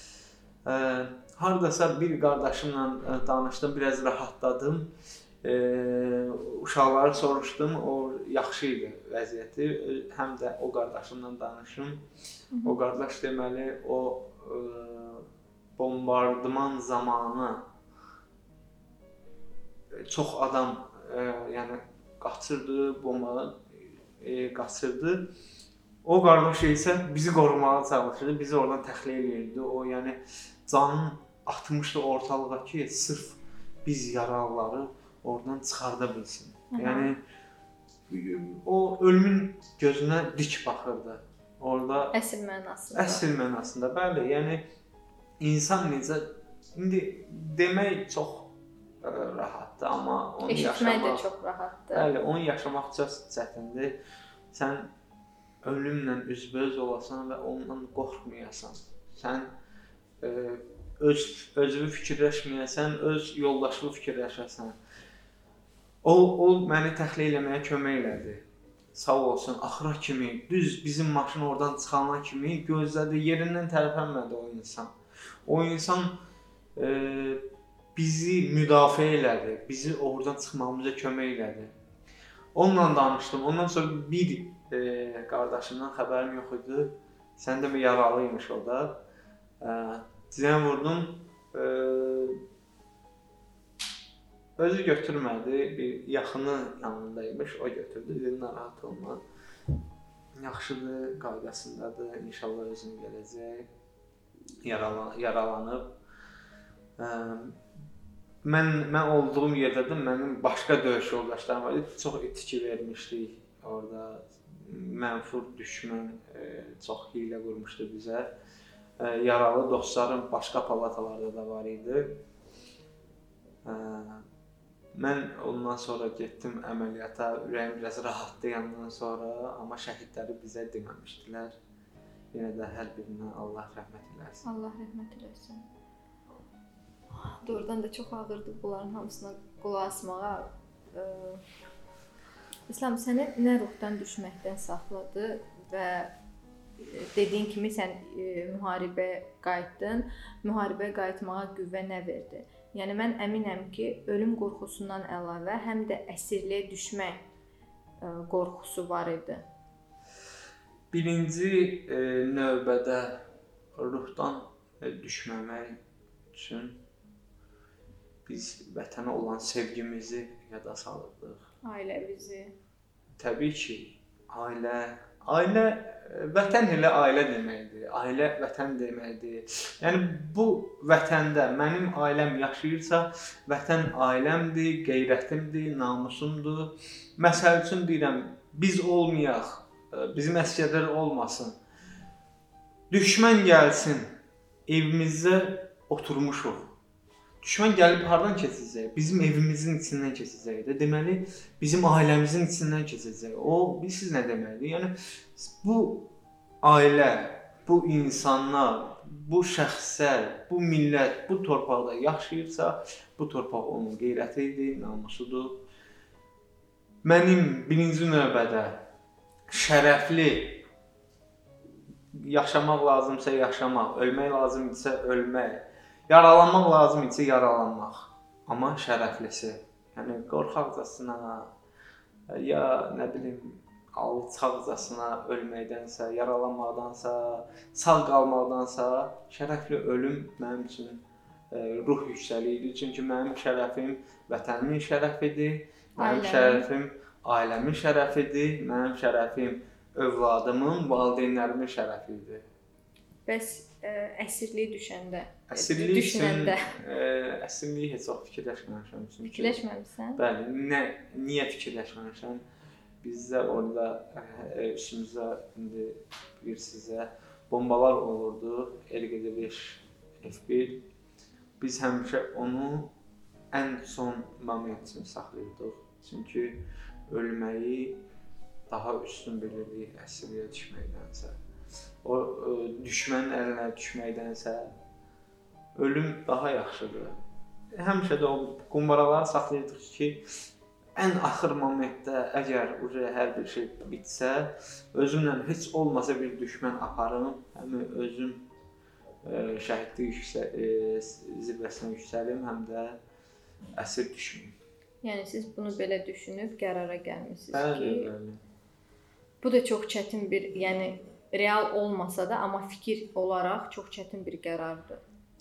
Hardasa bir qardaşımla danışdım, biraz rahatladım. Uşaqları soruşdum, o yaxşı idi vəziyyəti. Həm də o qardaşımla danışım. O qardaş deməli, o bombardıman zamanı çox adam yəni qaçırdı, bombadan qaçırdı. O qardaş isə bizi qorumağa çalışırdı, bizi oradan təxliyə edirdi. O yəni canın atmışdı ortalığa ki, sırf biz yaralıları oradan çıxarda bilsin. Yəni o ölümün gözünə dik baxırdı. Orada əsl mənasında. Əsl mənasında, bəli. Yəni insan necə indi demək çox rahatdır, amma onu eşitmək də çox rahatdır. Bəli, onu yaşamaq çox çətindir. Sən ölümlə üzbəüz olasan və ondan qorxmayasan. Sən özünü fikirləşməyəsən, öz yoldaşını fikirləşəsən. O məni təxliyə eləməyə kömək elədi. Sağ olsun, axıra kimi, düz bizim maşın oradan çıxana kimi gözlədi, yerindən tərpənmədi o insan. O insan bizi müdafiə elədi, bizi oradan çıxmamıza kömək elədi. Onunla danışdım. Ondan sonra bir qardaşımdan xəbərim yox idi. Sən də yaralıymış o da. Zəng vurdum. Özü götürmədi. Bir yaxını yanındaymış. O götürdü. Dedi, narahat olma. Yaxşıdır, qaydasındadır. İnşallah özünə gələcək. Yaralanıb. Mən olduğum yerdədim. Mənim başqa döyüş yoldaşlarım var idi. Çox itki vermişdik orada. Mənfur düşmən çox hiylə qurmuşdu bizə. Yaralı dostlarım başqa palatalarda da var idi. Mən ondan sonra getdim əməliyyata. Ürəyim biraz rahatdı yandan sonra, amma şəhidləri bizə deməmişdilər. Yenə də hər birinə Allah rəhmət eləsin. Allah rəhmət eləsin. Doğrudan da çox ağırdı bunların hamısına qulaq asmağa. İslam, səni nə ruhdan düşməkdən saxladı və dediyin kimi sən müharibəyə qayıtdın. Müharibəyə qayıtmağa qüvvə nə verdi? Yəni mən əminəm ki, ölüm qorxusundan əlavə həm də əsirliyə düşmək qorxusu var idi. Birinci növbədə ruhdan düşməmək üçün biz vətənə olan sevgimizi yada salırdıq. Ailəmizi. Təbii ki, ailə vətən elə ailə deməkdir. Ailə vətən deməkdir. Yəni bu vətəndə mənim ailəm yaşayırsa, vətən ailəmdir, qeyrətimdir, namusumdur. Məsəl üçün deyirəm, biz olmayaq, bizim əsgərlər olmasın. Düşmən gəlsin, evimizdə oturmuşuq. Düşmən gəlib hardan keçəcək? Bizim evimizin içindən keçəcək də. Deməli, bizim ailəmizin içindən keçəcək. O, bilirsiniz nə deməkdir? Yəni bu ailə, bu insanlar, bu şəxslər, bu millət bu torpaqda yaşayırsa, bu torpaq onun qeyrətidir, namusudur. Mənim birinci növbədə şərəfli yaşamaq lazımsa yaşamaq, ölmək lazımdırsa ölmək. Yaralanmaq lazım isə yaralanmaq, amma şərəflisi. Yəni qorxaqcasına ya nə bilim alçaqcasına ölməkdənsə, yaralanmaqdansa, sağ qalmaqdansa şərəfli ölüm mənim üçün ruh yüksəliydi. Çünki mənim şərəfim vətənimin şərəfidir, mənim şərəfim ailəmin şərəfidir, mənim şərəfim övladımın, valideynlərimin şərəfidir. Bəs əsirlik düşəndə, Əsirlik heç vaxt fikirləşməmişəm. Fikirləşməmisən? Bəli, niyə fikirləşməmişəm? Bizdə orada üstümüzdə indi bilirsizə bombalar olurdu, LQD5, F1. Biz həmişə onu ən son moment üçün saxlayırdıq. Çünki ölməyi daha üstün bilirdik əsirliyə düşməkdənsə. O düşmənin əlinə düşməkdənsə ölüm daha yaxşıdır. Həmişə də o qumbaraları saxlayırdıq ki, ən axır momentdə əgər hər bir şey bitsə, özümlə heç olmasa bir düşmən aparım, həm özüm şəhidlik zirvəsinə yüksəlim, həm də əsir düşməyim. Yəni siz bunu belə düşünüb qərara gəlmisiniz Bəli, ki, bəli. Bu da çox çətin bir, yəni real olmasa da, amma fikir olaraq çox çətin bir qərardır.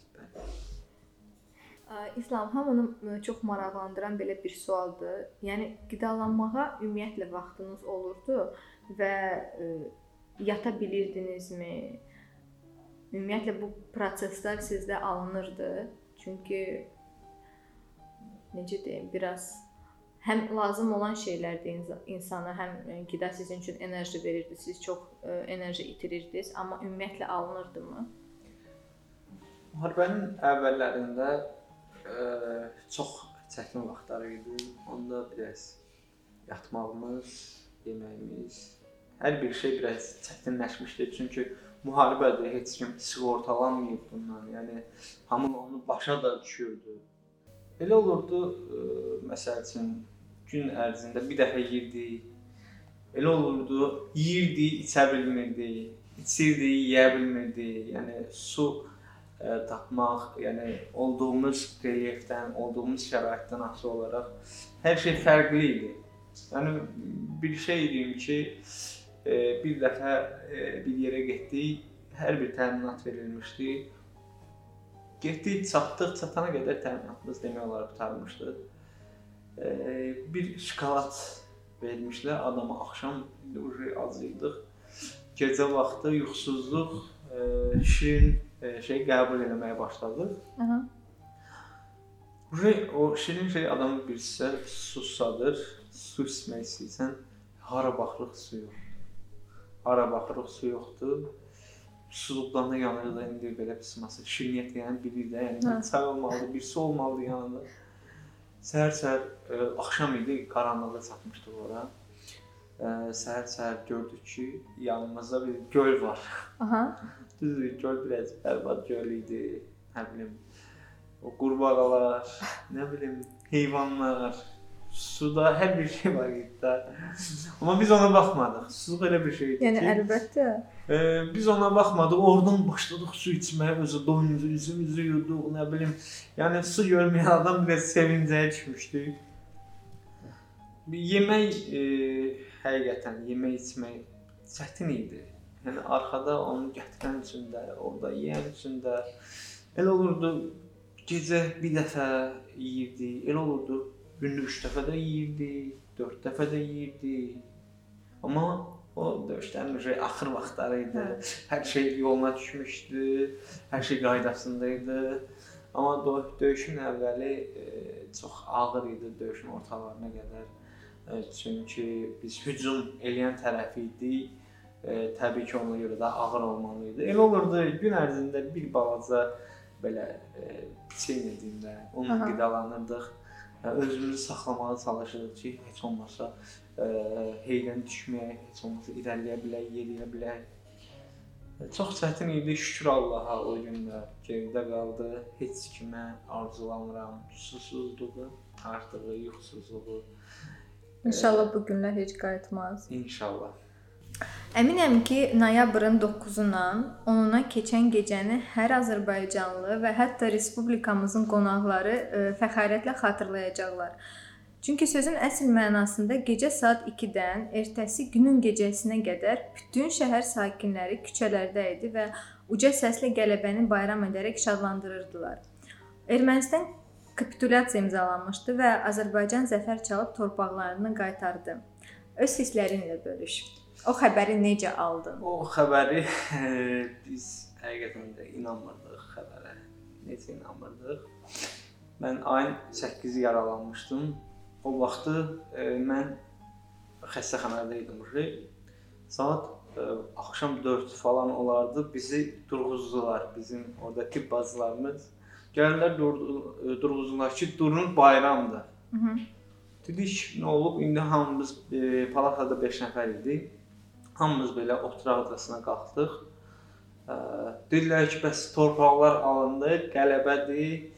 İslam, hamını çox maraqlandıran belə bir sualdır. Yəni qidalanmağa ümumiyyətlə vaxtınız olurdu və yata bilirdinizmi? Ümumiyyətlə bu proseslər sizdə alınırdı. Çünki necə deyim, biraz həm lazım olan şeylərdir insana, həm qida sizin üçün enerji verirdi, siz çox enerji itirirdiniz, amma ümumiyyətlə alınırdımı? Müharibənin əvvəllərində çox çətin vaxtlar idi. Onda biraz yatmağımız, yeməyimiz, hər bir şey biraz çətinləşmişdi. Çünki müharibədir, heç kim sığortalanmayıb bundan. Yəni hamı onu başa da düşürdü. Elə olurdu, məsəl üçün gün ərzində bir dəfə yeyirdik. Elə olurdu, yeyirdik, içə bilmirdik, içirdik, yeyə bilmirdik. Yəni su tapmaq, yəni olduğumuz relyefdən, olduğumuz şəraitdən asılı olaraq hər şey fərqli idi. Yəni bir şey deyim ki, bir dəfə bir yerə getdik, hər bir təminat verilmişdi. Getdik, çatdıq, çatana qədər təminatımız demək olar qurtarmışdı. Bir şokolad vermişlər adama, axşam acıydıq. Gecə vaxtı yuxusuzluq, şirin şey qəbul etməyə başladıq. O şirin şey adamı birisi su susadır, su içmək istəyirsən, hara baxırıq su yox. Hara baxırıq su yoxdur. Susuzluqdan da yanırıq da indi belə pısması. Şirniyyət yəni bilir də, yəni bir çay olmalıdır, bir su olmalıdır yanında. Səhər-səhər axşam idi, qaranlıqda çatmışdıq ora. Səhər-səhər gördük ki, yanımızda bir göl var. Düzdür, göl biraz bərbad göl idi. Nə bilim, o qurbağalar, nə bilim, heyvanlar, suda hər bir şey var idi də. Amma biz ona baxmadıq. Susuzluq elə bir şey idi ki. Yəni əlbəttə. Biz ona baxmadıq. Oradan başladıq su içməyə, özü doyumuzu, üzümüzü yudduq, nə bilim. Yəni su görməyən adam biraz sevincəyə düşmüşdü. Yemək həqiqətən yemək içmək çətin idi. Yəni arxada onu gətirən üçün də, orada yeyən üçün də elə olurdu. gecə bir dəfə yeyirdi, elə olurdu, gündə 3 dəfə də yeyirdi, 4 dəfə də yeyirdi. Amma o döyüşlərin axır vaxtları idi. Hər şey yoluna düşmüşdü, hər şey qaydasında idi. Amma döyüşün əvvəli çox ağır idi, döyüşün ortalarına qədər. Çünki biz hücum eləyən tərəf idik. Təbii ki, ona görə də ağır olmalı idi. Elə olurdu, gün ərzində bir balaca belə piçenya deyim də, onunla qidalanırdıq. Özümüzü saxlamağa çalışırdıq ki, heç olmasa heydən düşməyək, heç olmasa irəliləyə bilək, yeriyə bilək. Çox çətin idi, şükür Allaha o günlər geridə qaldı. Heç kimə arzulamıram susuzluğu, artığı, yuxusuzluğu. İnşallah bu günlər heç qayıtmaz. İnşallah. Əminəm ki, noyabrın 9-undan 10-una keçən gecəni hər azərbaycanlı və hətta respublikamızın qonaqları fəxarətlə xatırlayacaqlar. Çünki sözün əsl mənasında gecə saat 2-dən ertəsi günün gecəsinə qədər bütün şəhər sakinləri küçələrdə idi və uca səslə qələbəni bayram edərək şadlandırırdılar. Ermənistan kapitulyasiya imzalanmışdı və Azərbaycan zəfər çalıb torpaqlarını qaytardı. Öz hisslərinlə bölüş. O xəbəri necə aldın? O xəbəri biz həqiqətən də inanmırdıq xəbərə. Necə inanmırdıq? Mən ayın 8-i yaralanmışdım. O vaxtı mən xəstəxanada idim. Saat axşam 4 falan olardı. Bizi durğuzdular. Bizim orada tibb bacılarımız gəldilər durğuzdular ki, durun bayramdır. Dedik, nə olub? İndi hamımız palatada 5 nəfər idi. Hamımız belə oturaq odasına qalxdıq. Dedilər ki, bəs torpaqlar alındı, qələbədir,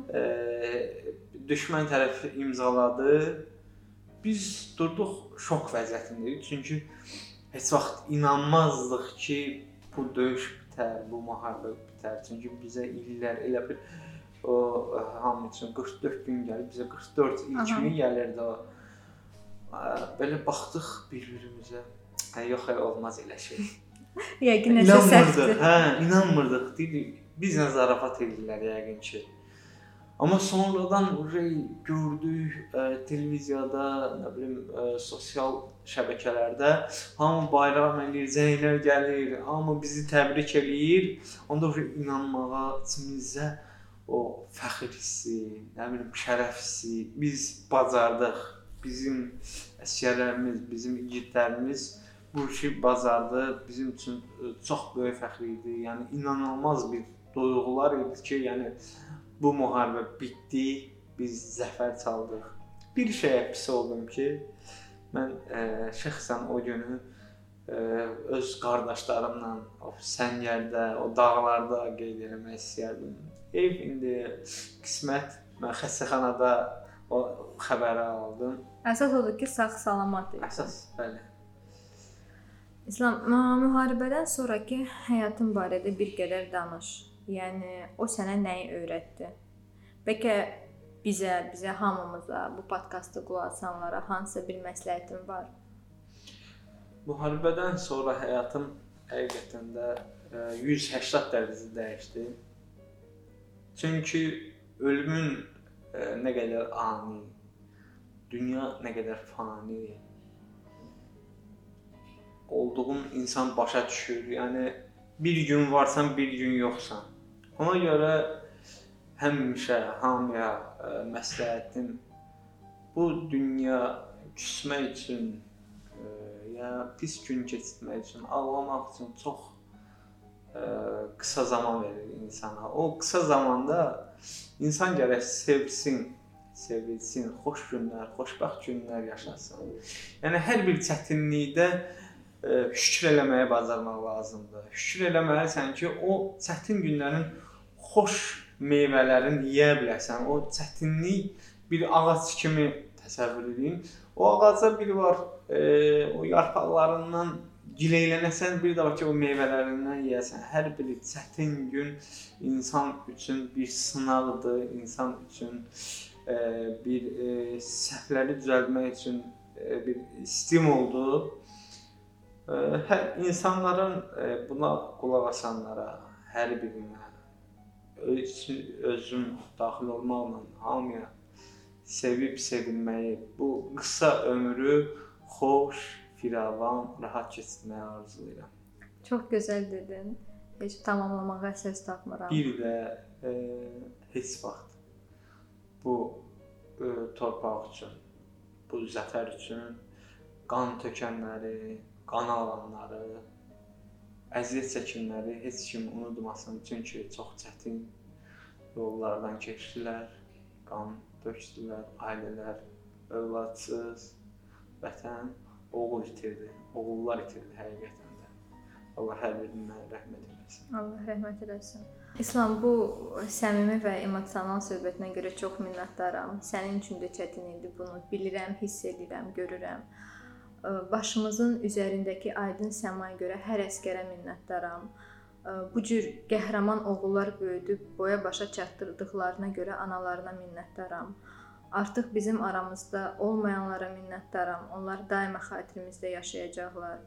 düşmən tərəfi imzaladı. Biz durduq şok vəziyyətindəyik. Çünki heç vaxt inanmazdıq ki, bu döyüş bitər, bu müharibə bitər. Çünki bizə illər elə bir o hamı üçün 44 gün gəlib, bizə 44 il kimi gəlirdi o. Belə baxdıq bir-birimizə. Yox, olmaz elə şey. Yəqin nəsə səhvdir. İnanmırdıq. Bizlə zarafat edirlər yəqin ki. Amma sonradan gördük televiziyada, nə bilim, sosial şəbəkələrdə hamı bayram eləyir, zənglər gəlir, hamı bizi təbrik eləyir. Onda inanmağa, içimizdə o fəxr hissi, nə bilim, şərəf hissi, biz bacardıq. Bizim əsgərlərimiz, bizim igidlərimiz bu işi bacardı. Bizim üçün çox böyük fəxr idi. Yəni inanılmaz bir duyğular idi ki, yəni bu müharibə bitdi, biz zəfər çaldıq. Bir şeyə pis oldum ki, mən şəxsən o günü öz qardaşlarımla o səngərdə, o dağlarda qeyd etmək istəyərdim. İndi qismət mən xəstəxanada o xəbəri aldım. Əsas odur ki, sağ-salamat idi. Əsas, bəli. İslam, müharibədən sonrakı həyatın barədə bir qədər danış. Yəni o sənə nəyi öyrətdi? Bəlkə bizə hamımıza, bu podkastı qulaq asanlara hansısa bir məsləhətin var? Müharibədən sonra həyatım həqiqətən də 180 dərəcə dəyişdi. Çünki ölümün nə qədər ani, dünya nə qədər fani olduğun insan başa düşür. Yəni bir gün varsan, bir gün yoxsan. Ona görə həmişə hamıya məsləhətim bu dünya küsmək üçün ya pis gün keçirmək üçün, ağlamaq üçün çox qısa zaman verir insana. O qısa zamanda insan gərək sevsin, sevilsin, xoş günlər, xoşbəxt günlər yaşasın. Yəni hər bir çətinlikdə şükür eləməyə bacarmaq lazımdır. Şükür eləməlisən ki, o çətin günlərin xoş meyvələrini yeyə biləsən. O çətinlik bir ağac kimi təsəvvür edin. O ağaca biri var, o yarpaqlarından gileylənəsən, bir də var ki, o meyvələrindən yeyəsən. Hər bir çətin gün insan üçün bir sınaqdır, insan üçün bir səhvləri düzəltmək üçün bir stimuldur. İnsanların buna qulaq asanlara, hər birinə özüm daxil olmaqla hamıya sevib sevilməyi, bu qısa ömrü xoş, firavan, rahat keçirməyi arzulayıram. Çox gözəl dedin. Heç tamamlamağa söz tapmıram. Bir də heç vaxt bu torpaq üçün, bu zəfər üçün qan tökənləri, qan alanları, əziyyət çəkənləri heç kim unutmasın. Çünki çox çətin yollardan keçdilər, qan dökdülər, ailələr övladsız, vətən oğul itirdi, oğullar itirdi həqiqətən də. Allah hər birinə rəhmət eləsin. Allah rəhmət eləsin. İslam, bu səmimi və emosional söhbətinə görə çox minnətdaram. Sənin üçün də çətin idi bunu bilirəm, hiss edirəm, görürəm. Başımızın üzərindəki aydın səmaya görə hər əsgərə minnətdaram. Bu cür qəhrəman oğullar böyüdüb boya başa çatdırdıqlarına görə analarına minnətdaram. Artıq bizim aramızda olmayanlara minnətdaram. Onlar daima xatirimizdə yaşayacaqlar.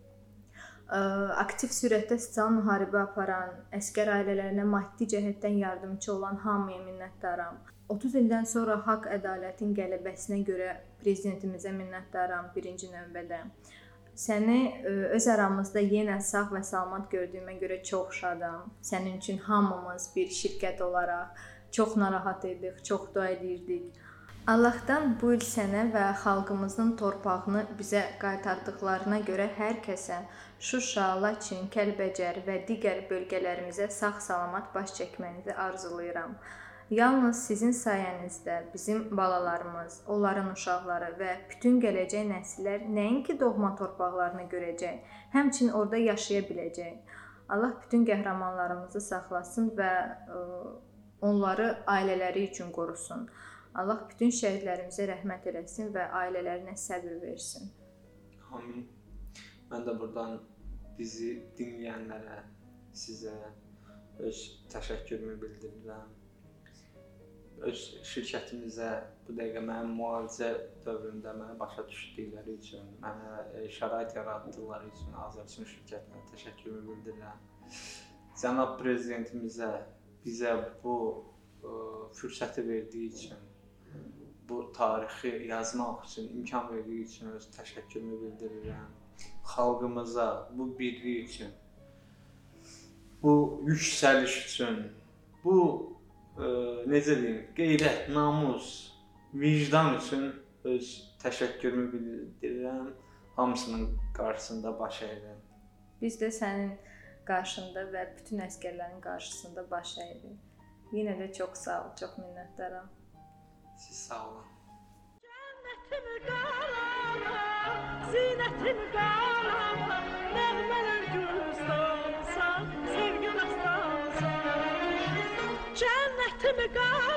Aktiv sürətdə sosial müharibə aparan, əsgər ailələrinə maddi cəhətdən yardımçı olan hamıya minnətdaram. 30 ildən sonra haqq ədalətin qələbəsinə görə prezidentimizə minnətdaram birinci növbədə. Səni öz aramızda yenə sağ və salamat gördüyümə görə çox şadam. Sənin üçün hamımız bir şirkət olaraq çox narahat idik, çox dua edirdik. Allahdan bu il sənə və xalqımızın torpağını bizə qaytardıqlarına görə hər kəsə Şuşa, Laçın, Kəlbəcər və digər bölgələrimizə sağ-salamat baş çəkmənizi arzulayıram. Yalnız sizin sayənizdə bizim balalarımız, onların uşaqları və bütün gələcək nəsillər nəinki doğma torpaqlarını görəcək, həmçinin orada yaşaya biləcək. Allah bütün qəhrəmanlarımızı saxlasın və onları ailələri üçün qorusun. Allah bütün şəhidlərimizə rəhmət eləsin və ailələrinə səbr versin. Amin. Mən də buradan bizi dinləyənlərə, sizə öz təşəkkürümü bildirirəm. Öz şirkətimizə bu dəqiqə mənim müalicə dövründə məni başa düşdükləri üçün, mənə şərait yaratdıqları üçün Azərbaycan şirkətinə təşəkkürümü bildirirəm. Cənab prezidentimizə bizə bu fürsəti verdiyi üçün, bu tarixi yazmaq üçün imkan verdiyi üçün öz təşəkkürümü bildirirəm. Xalqımıza bu birlik üçün, bu yüksəliş üçün, bu necə deyim, qeyrət, namus, vicdan üçün öz təşəkkürümü bildirirəm. Hamısının qarşısında baş əyirəm. Biz də sənin qarşında və bütün əsgərlərin qarşısında baş əyirik. Yenə də çox sağ ol, çox minnətdaram. Siz sağ olun. Cənnətim qarama, zinətim qarama, nəğmələr gülistansan, sevgi dastansan. Cənnətim qarama.